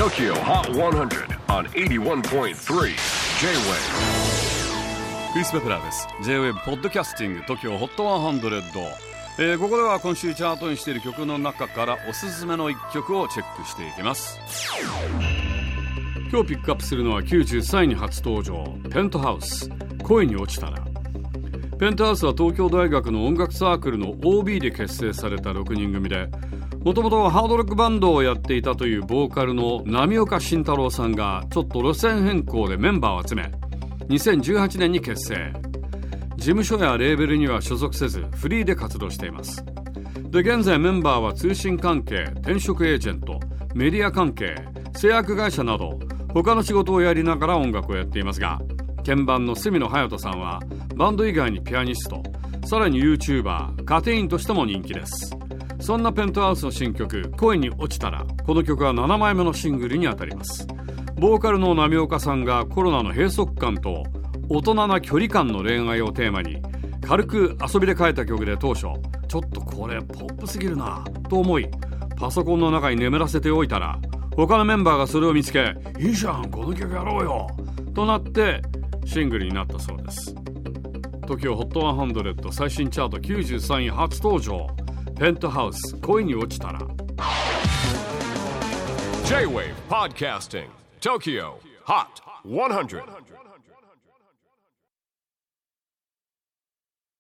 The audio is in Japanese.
TOKYO HOT 100 on 81.3 J-WAVE クリス・ベプラーです。 J-WAVE ポッドキャスティング TOKYO HOT 100、ここでは今週チャートにしている曲の中からおすすめの1曲をチェックしていきます。今日ピックアップするのは93位に初登場、ペントハウス、恋に落ちたら。ペントハウスは東京大学の音楽サークルの OB で結成された6人組で、もともとハードロックバンドをやっていたというボーカルの波岡慎太郎さんがちょっと路線変更でメンバーを集め、2018年に結成。事務所やレーベルには所属せずフリーで活動しています。で、現在メンバーは通信関係、転職エージェント、メディア関係、製薬会社など他の仕事をやりながら音楽をやっていますが、鍵盤の角野隼人さんはバンド以外にピアニスト、さらに YouTuber、カテインとしても人気です。そんなペントハウスの新曲恋に落ちたら、この曲は7枚目のシングルにあたります。ボーカルの波岡さんがコロナの閉塞感と大人な距離感の恋愛をテーマに軽く遊びで書いた曲で、当初ちょっとこれポップすぎるなと思いパソコンの中に眠らせておいたら、他のメンバーがそれを見つけ、いいじゃんこの曲やろうよとなってシングルになったそうです。 TOKYO HOT 100最新チャート93位初登場、ペントハウス恋に落ちたら。 J-WAVE PODCASTING TOKYO HOT 100